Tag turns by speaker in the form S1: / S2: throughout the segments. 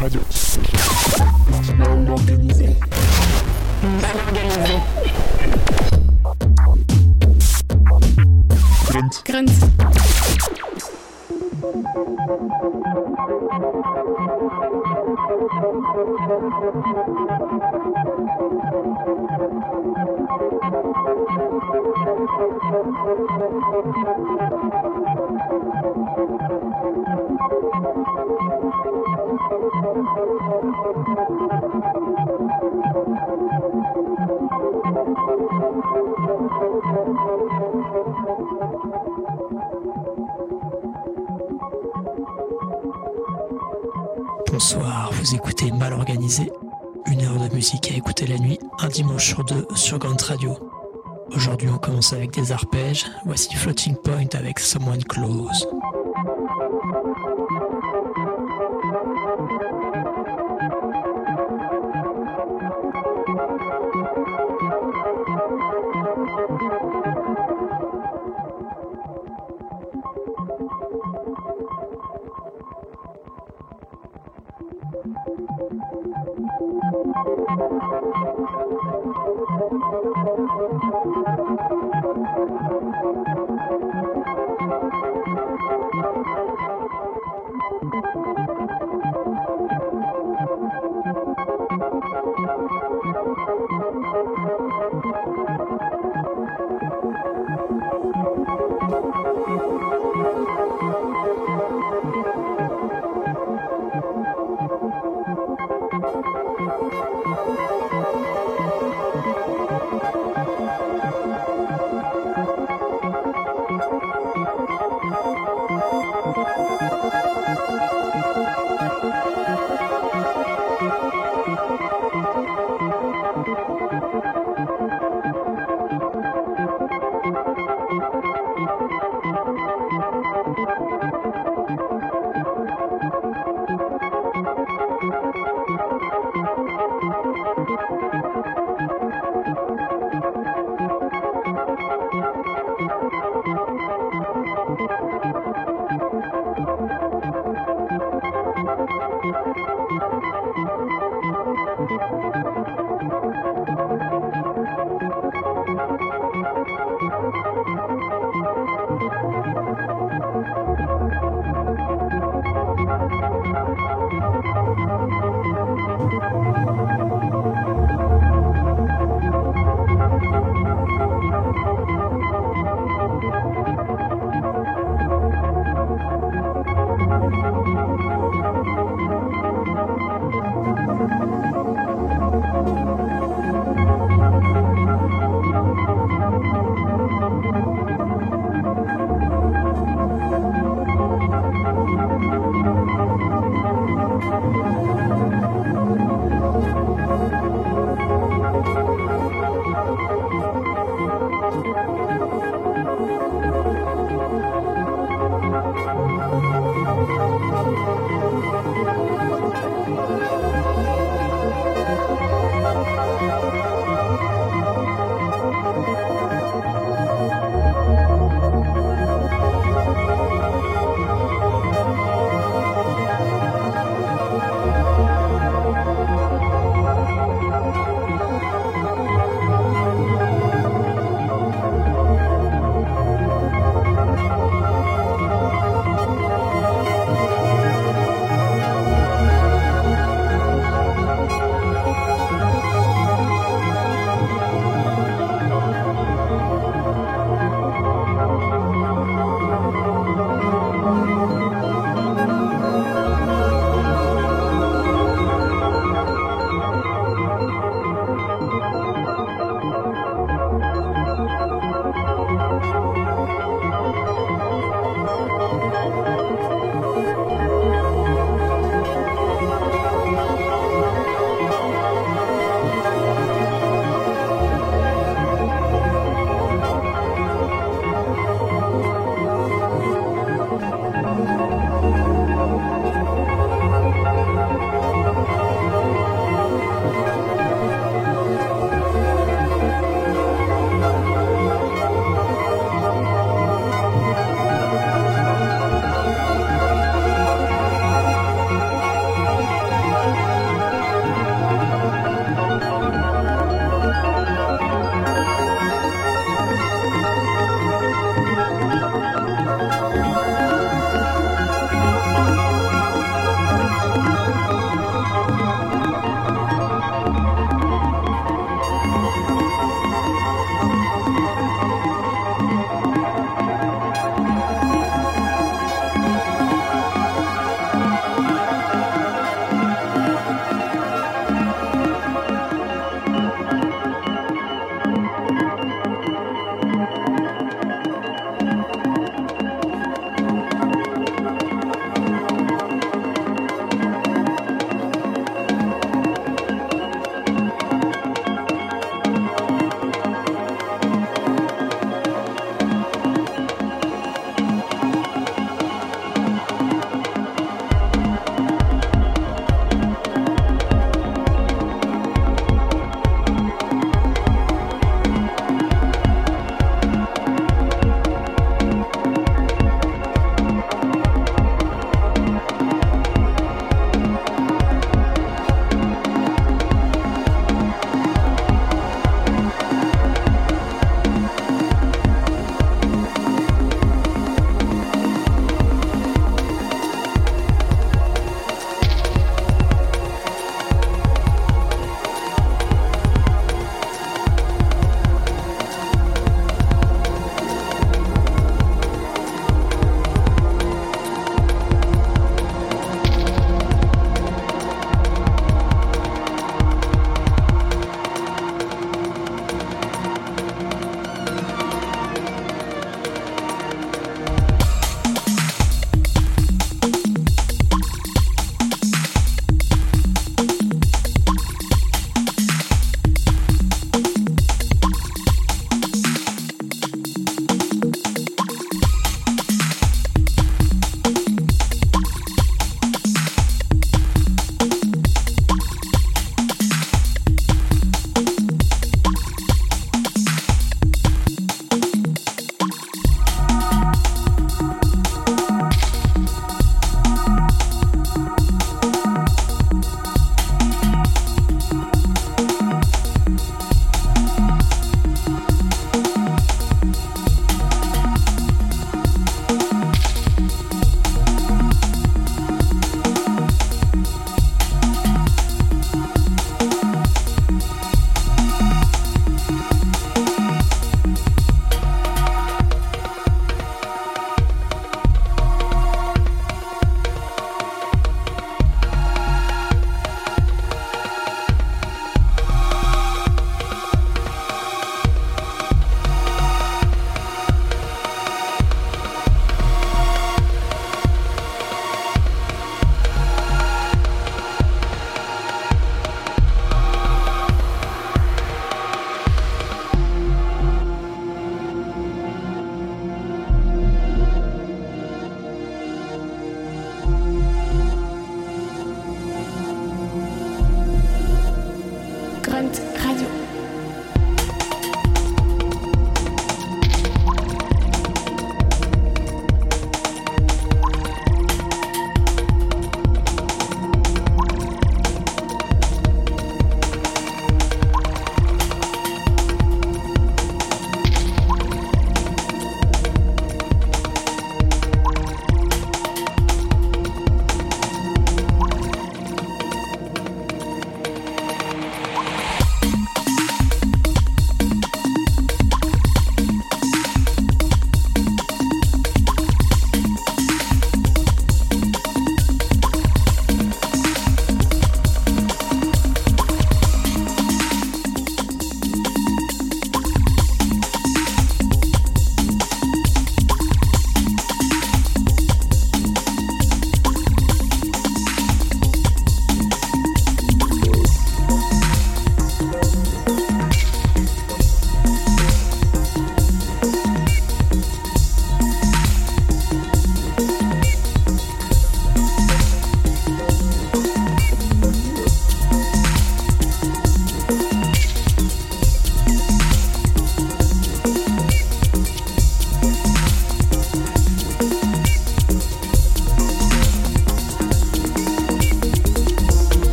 S1: Radio.
S2: Mal organisé.
S1: Grunt.
S3: Bonsoir, vous écoutez Mal Organisé, une heure de musique à écouter la nuit, un dimanche sur deux sur Grunt Radio. Aujourd'hui on commence avec des arpèges, voici Floating Point avec Someone Close.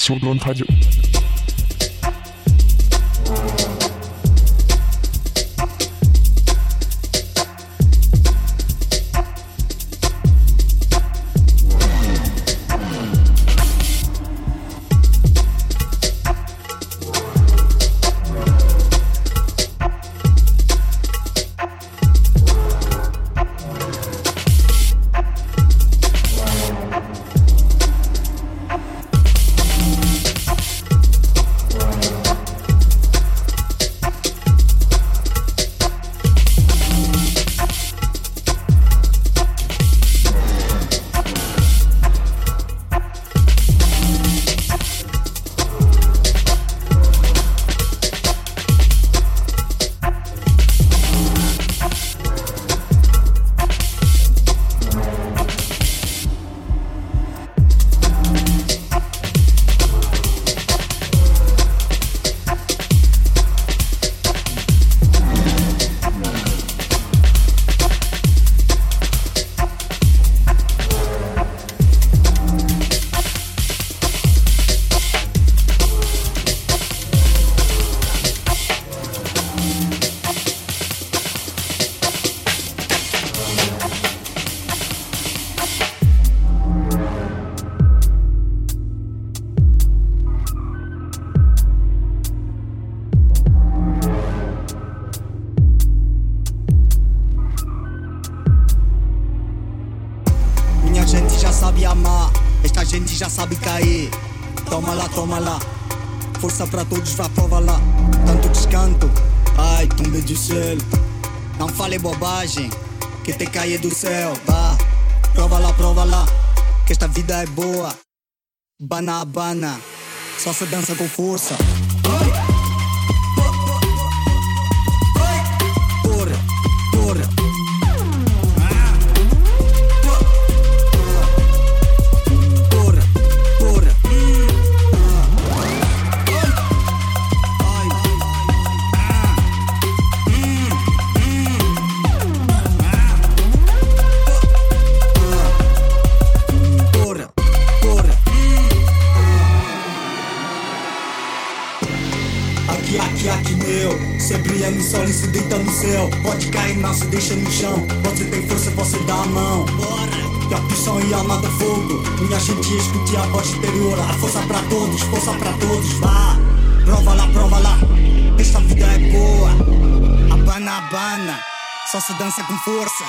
S2: sur Grunt Radio.
S1: Sabe cair, toma lá, força pra todos, vá prova lá, tanto descanto, ai, tombe do céu, não fale bobagem, que te cair do céu, vá, prova lá, que esta vida é boa, bana, só se dança com força. Sol e se deita no céu, pode cair, não se deixa no chão. Você tem força, você dá a mão. Bora! A pição e a alma do fogo. Minha gente escute a voz exterior. A força pra todos, vá. Prova lá, esta vida é boa. Abana, só se dança com força.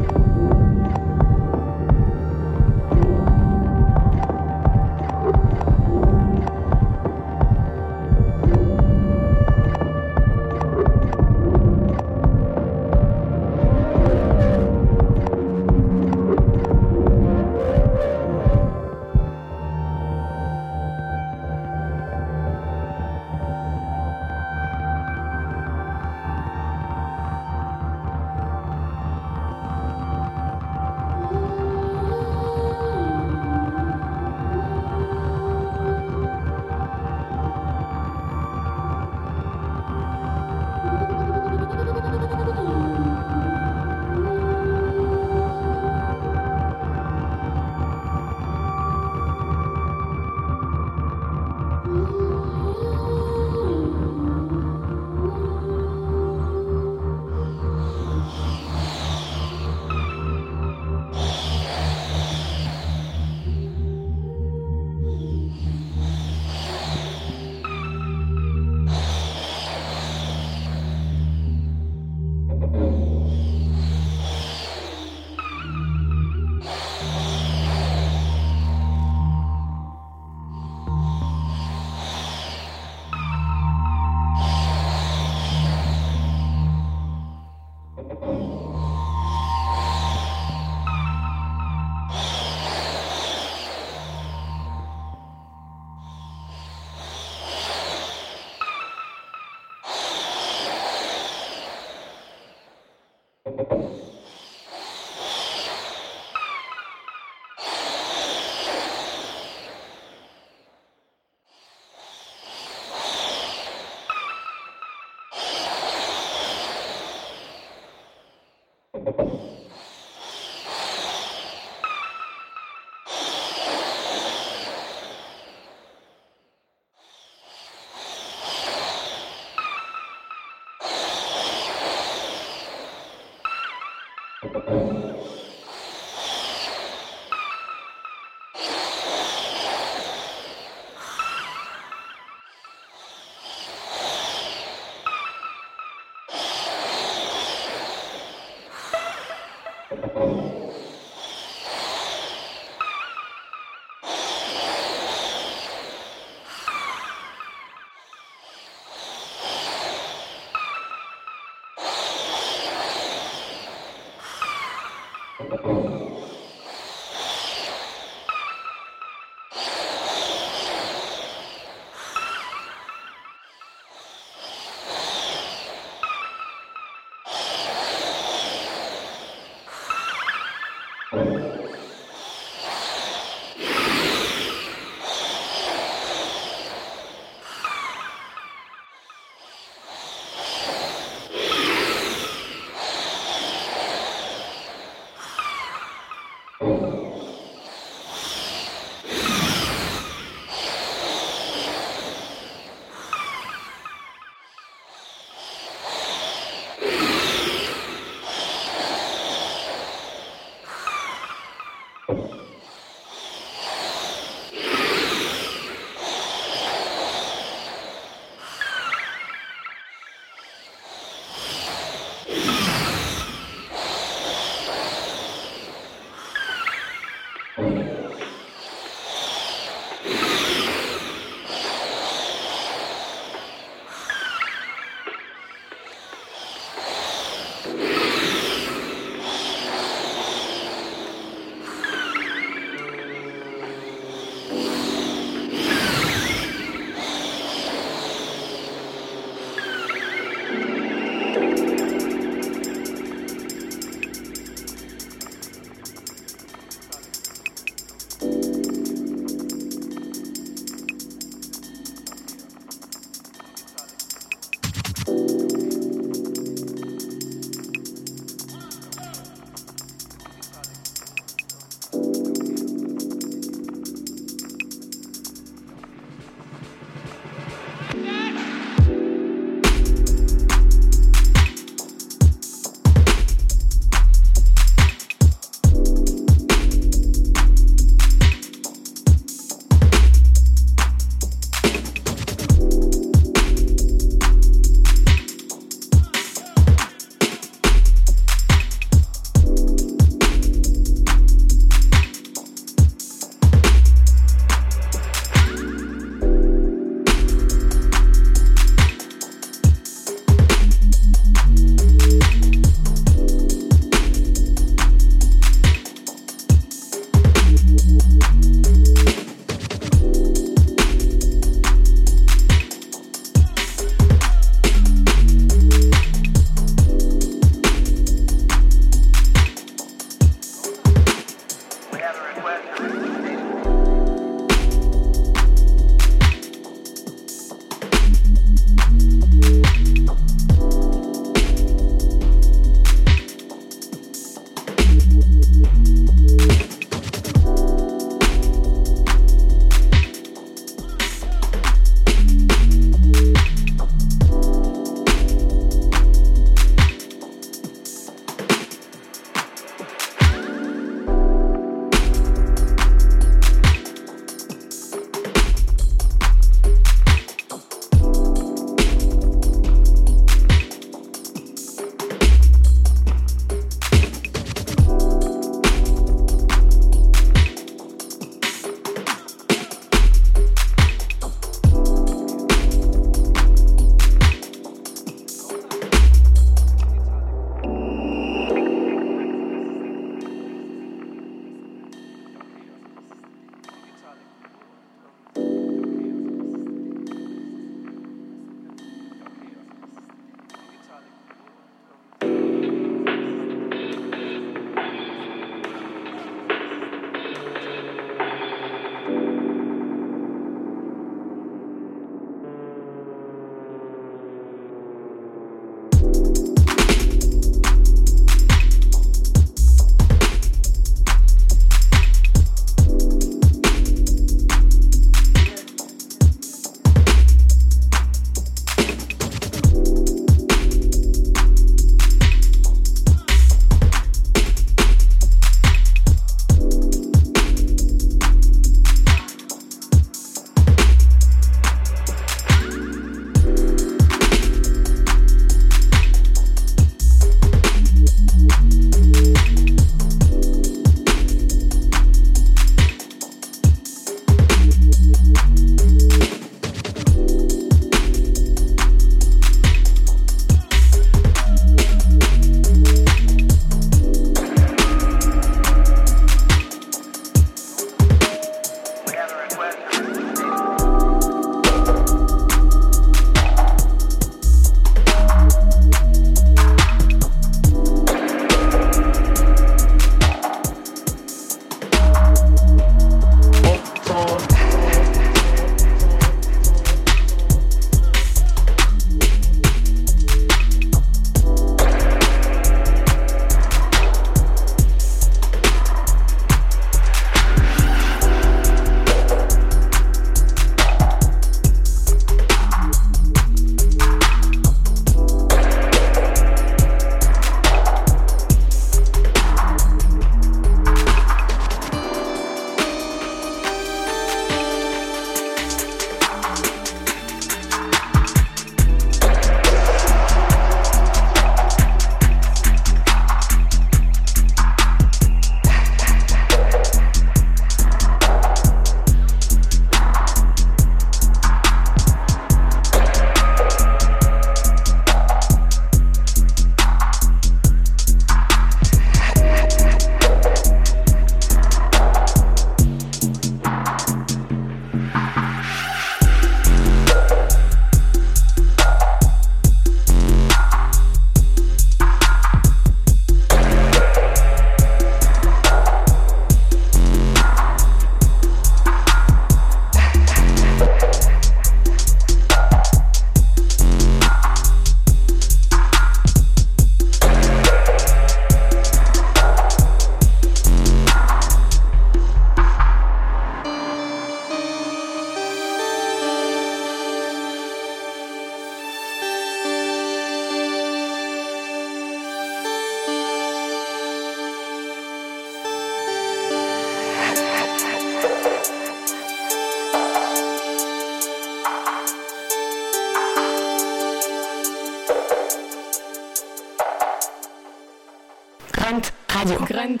S4: Grunt Radio.
S5: Grunt.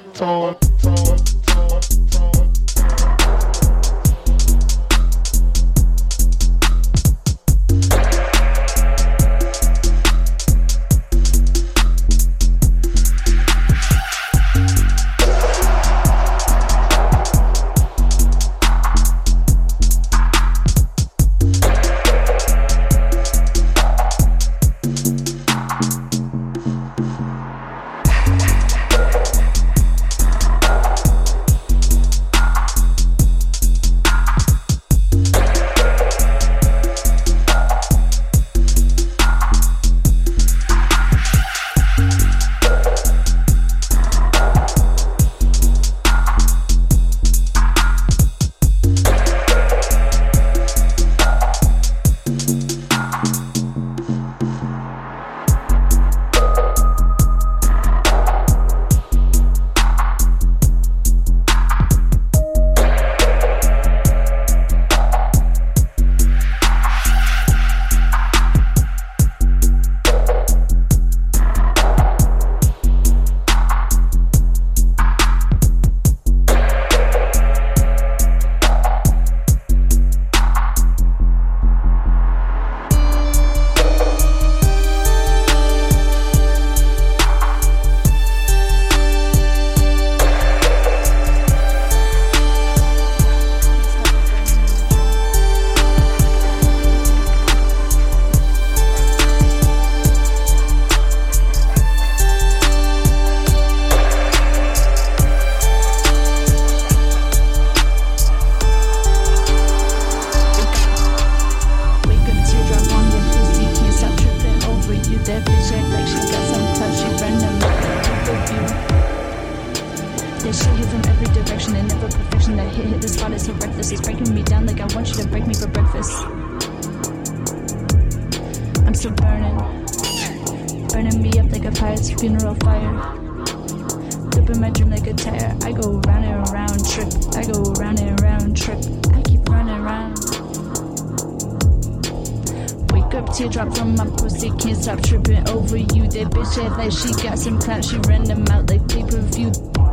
S6: Like she got some clout, she ran them out like pay-per-view.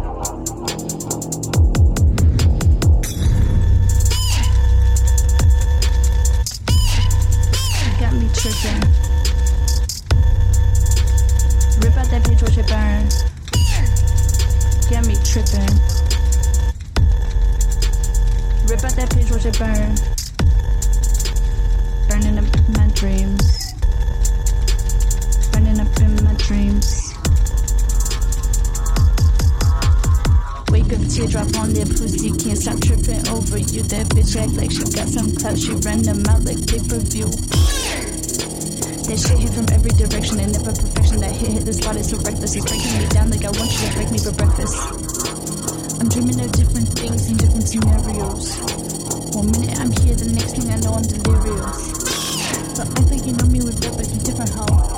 S6: Got me tripping. Rip out that page, watch it burn. Got me tripping. Rip out that page, watch it burn. Burning up my dreams. Up in my dreams. Wake up, teardrop on their pussy. Can't stop tripping over you. That bitch act like she got some clout. She ran them out like pay-per-view. That shit hit from every direction and never perfection. That hit the spot is so reckless. It's breaking me down like I want you to break me for breakfast. I'm dreaming of different things in different scenarios. One minute I'm here, the next thing I know I'm delirious. So I think you know me with rep, but you different hoe.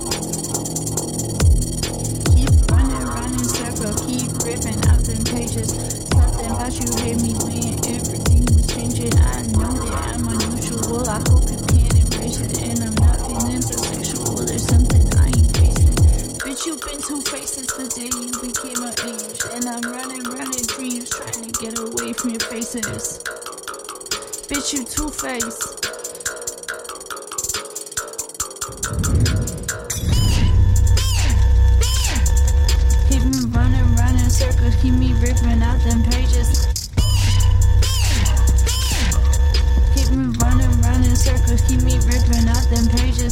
S6: Keep ripping out them pages. Something about you hit me when everything was changing. I know that I'm unusual. I hope you can embrace it. And I'm not feeling so sexual. There's something I ain't facing. Bitch, you've been two-faced since the day you became my age. And I'm running dreams, trying to get away from your faces. Bitch, you two-faced. Circles keep me ripping out them pages. Keep me running in circles, keep me ripping out them pages.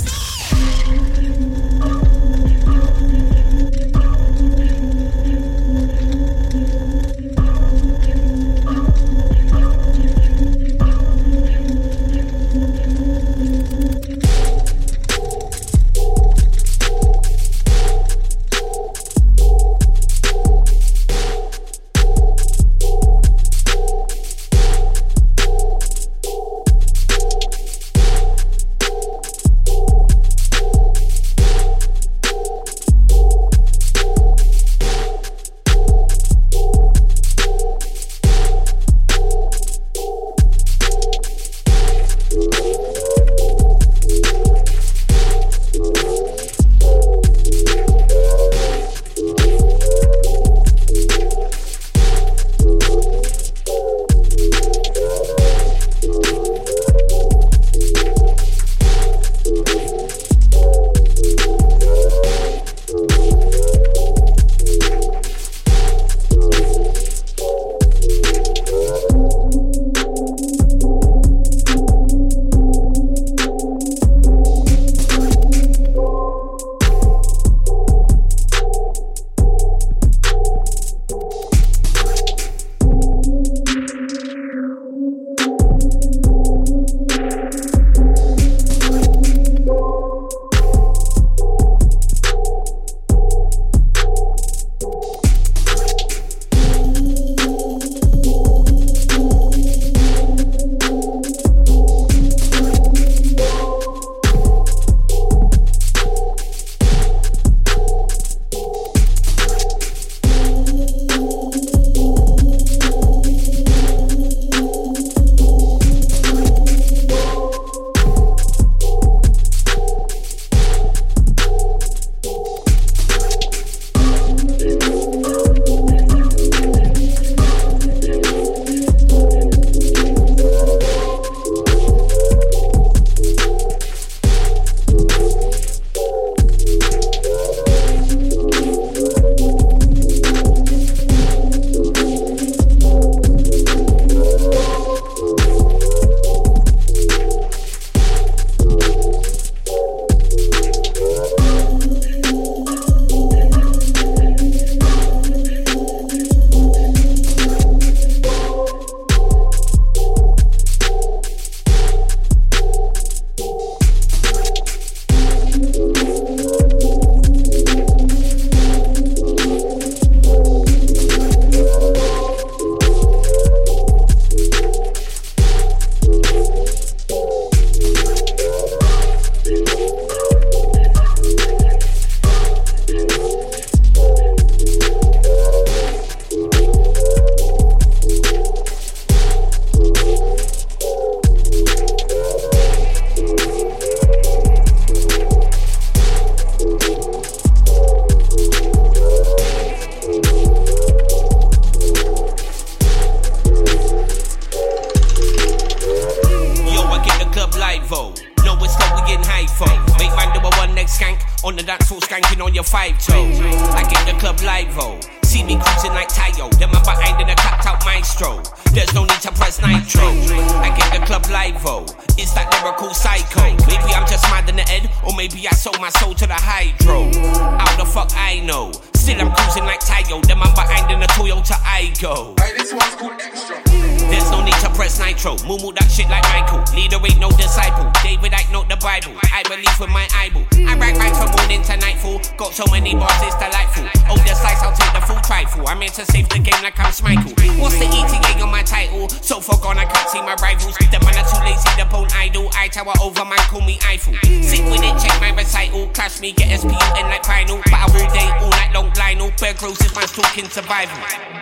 S4: skanking on your 5-toe. I get the club live-o. See me cruising like Tayo, then I'm behind in a clapped out maestro. There's no need to press nitro. I get the club live-o. It's that lyrical psycho. Maybe I'm just mad in the head, or maybe I sold my soul to the hydro. How the fuck I know? Still I'm cruising like Tayo, then I'm behind in a Toyota Aygo.
S2: This one's called Extra.
S4: There's no need to press nitro. Moo that shit like Michael. Leader ain't no disciple. David I know the Bible. I believe with my eyeball. I rag from morning to nightfall. Got so many bars, it's delightful. Oh, the slice, I'll take the full trifle. I'm here to save the game like I'm Schmeichel. What's the ETA on my title? So far gone, I can't see my rivals. The man are too lazy to bone idol. I tower over, man, call me Eiffel. Sit with it, check my recital. Clash me, get SPU in like final. But I all day, all night long, Lionel. Bear Grylls is man's talking survival.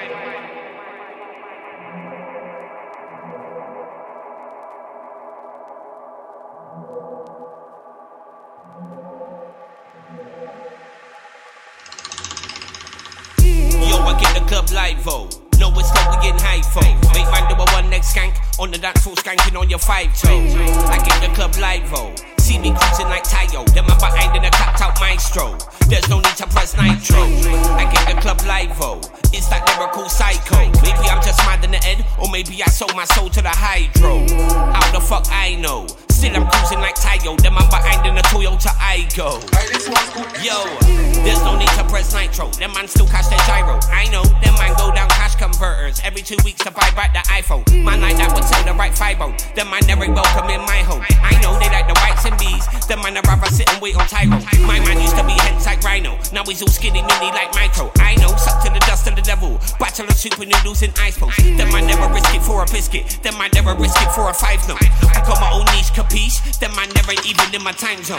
S4: I get the club live-o. No, it's not we getting high-fo. Make man do a one next skank. On the dance floor skanking on your 5-toe. I get the club live-o. See me cruising like Tayo, then I'm behind in a clapped out maestro. There's no need to press nitro. I get the club live-o. It's that lyrical psycho. Maybe I'm just mad in the head, or maybe I sold my soul to the hydro. How the fuck I know? Still I'm cruising like Tayo, then I'm behind in a Toyota Aygo. Yo, there's no need to press nitro. Them man still cash their gyro. I know, them man go down cash converters every 2 weeks to buy back the iPhone. Man like that would sell the right fibo. Them man never welcome in my home. I know they like the whites and bees. Them man I'd rather sit and wait on Tyro. My man used to be hench like Rhino. Now he's all skinny mini like Micro. I know, suck to the dust of the devil. Bachelor super noodles in ice post. Them man never risk it for a biscuit. Them man never risk it for a 5 note. I got my own niche, capiche? Them man never even in my time zone.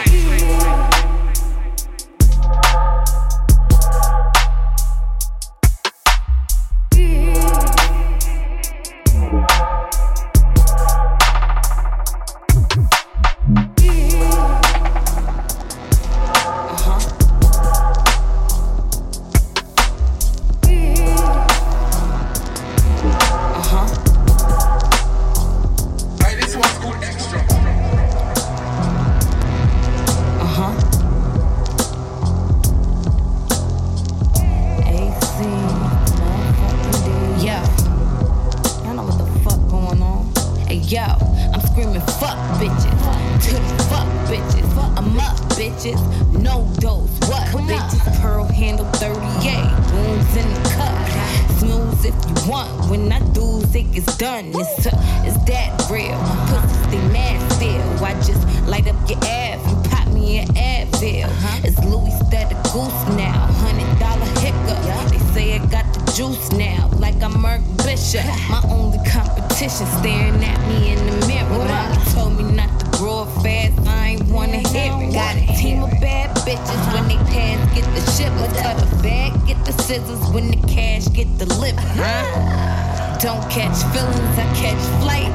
S5: Don't catch feelings, I catch flight.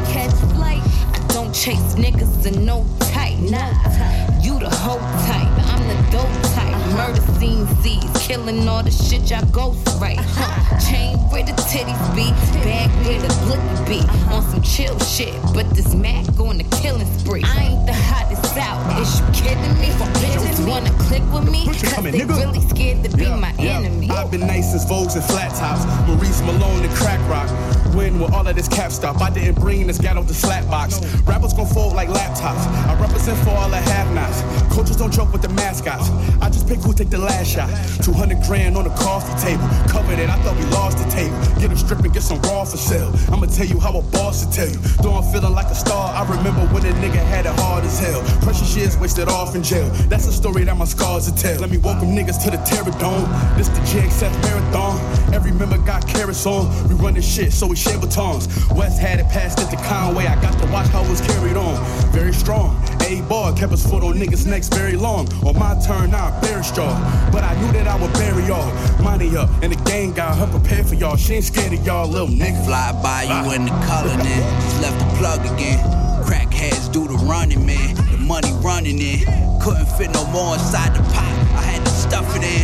S5: I don't chase niggas and no tight. You the hoe type, I'm the dope type. Murder scene Z's, killing all the shit y'all ghost right. Chain where the titties be, bag where the blicky be. On some chill shit, but this Mac on the killing spree. I ain't the hottest out, is you kidding me? Bitches wanna click with me, cause they really scared to be my enemy.
S7: I've been nice since Vogues and flat tops, Maurice Malone and crack rock. When will all of this cap stop? I didn't bring this gat off the slap box. Rappers gon' fold like laptops. I represent for all the have-nots. Coaches don't joke with the mascots. I just pick who take the last shot. 200 grand on the coffee table. Covered it, I thought we lost the table. Get them strip and get some raw for sale. I'ma tell you how a boss to tell you. Though I'm feeling like a star, I remember when a nigga had it hard as hell. Precious years wasted off in jail. That's a story that my scars will tell. Let me welcome niggas to the Terror Dome. This the GXF Marathon. Every member got carrots on. We run this shit, so we share batons. West had it passed it to Conway. I got to watch how it was carried on. Very strong. A-Bar kept his foot on niggas' necks very long. On my turn, now I bear straw. But I knew that I would bury y'all. Money up, and the gang got her prepared for y'all. She ain't scared of y'all, little nigga.
S8: Fly by you in the color, then. Just left the plug again. Crackheads do the running, man. The money running in. Couldn't fit no more inside the pot. I had to stuff it in.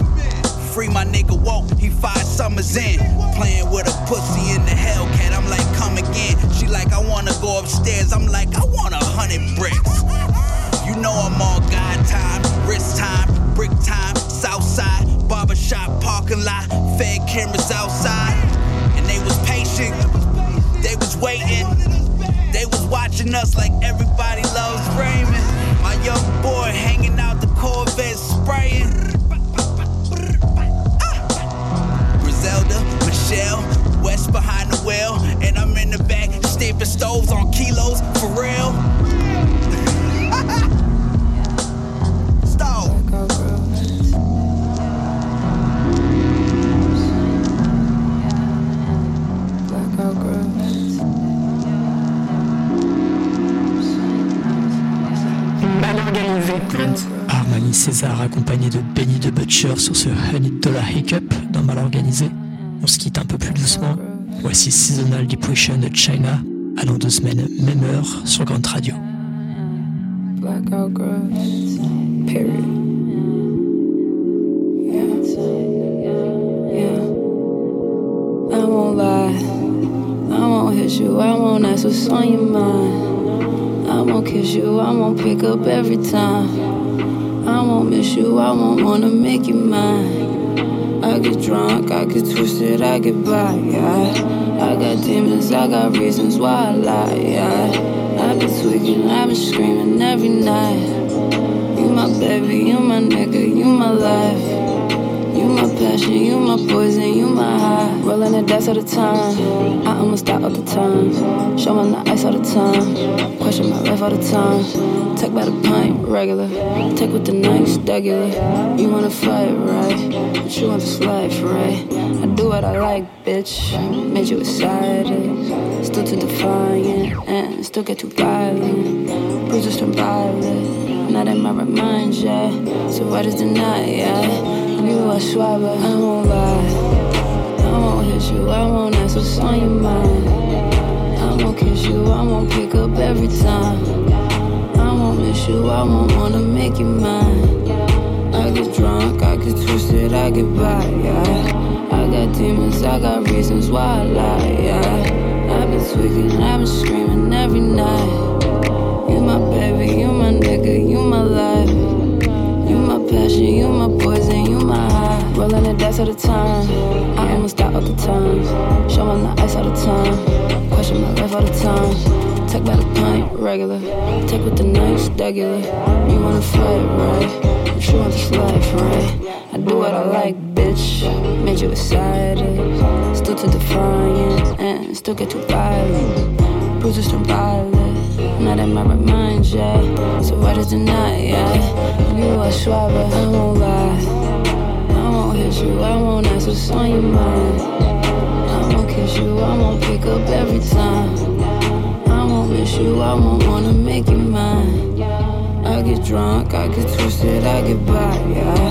S8: Free my nigga Woke, he 5 summers in. Playing with a pussy in the Hellcat, I'm like, come again. She like, I wanna go upstairs, I'm like, I want 100 bricks. You know I'm on God time, wrist time. Brick time, Southside, barbershop, parking lot, fed cameras outside. And they was patient, they was waiting. They was watching us like everybody loves Raymond. My young boy hanging out the Corvette spraying. Griselda, Michelle, West behind the wheel. And I'm in the back, stamping stoves on kilos, for real. Stove.
S3: Armani César accompagné de Benny the Butcher sur ce Honey Dollar Hiccup dans Mal Organisé. On se quitte un peu plus doucement. Voici Seasonal Depression de China, à dans 2 semaines, même heure sur Grande Radio.
S9: Blackout girls, period. Yeah. I won't lie, I won't hit you, I won't ask what's on your mind. I won't kiss you, I won't pick up every time. I won't miss you, I won't wanna make you mine. I get drunk, I get twisted, I get by, yeah. I got demons, I got reasons why I lie, yeah. I've been tweaking, I've been screaming every night. You my baby, you my nigga, you my life. You my passion, you my poison, you my high. Rolling the dice all the time, I almost die all the time. Showing the ice all the time, question my life all the time. Take by the pint, regular, take with the nice, regular. You wanna fight, right? But you want this life, right? I do what I like, bitch. Made you excited, still too defiant, and still get too violent. Bruises turn violet, not in my remind, yeah. So what is deny, yeah? You are shy, but I won't lie. I won't hit you, I won't ask what's on your mind. I won't kiss you, I won't pick up every time. I won't miss you, I won't wanna make you mine. I get drunk, I get twisted, I get by, yeah. I got demons, I got reasons why I lie, yeah. I've been tweaking, I've been screaming every night. You my baby, you my nigga, you my life. You my passion, you my poison, you my high. Rolling the dice all the time, I almost die all the time. Showing the ice all the time, question my life all the time. Take by the pint, regular, take with the nice, regular. You wanna fight, right? But you want this life, right? I do what I like, bitch. Made you excited, still too defiant, and still get too violent. Bruises turn violet, not in my remind, yeah. So what is deny, yeah? You are shy, but I won't lie. I won't hit you, I won't ask what's on your mind. I won't kiss you, I won't pick up every time. I won't miss you, I won't wanna make you mine. I get drunk, I get twisted, I get by, yeah.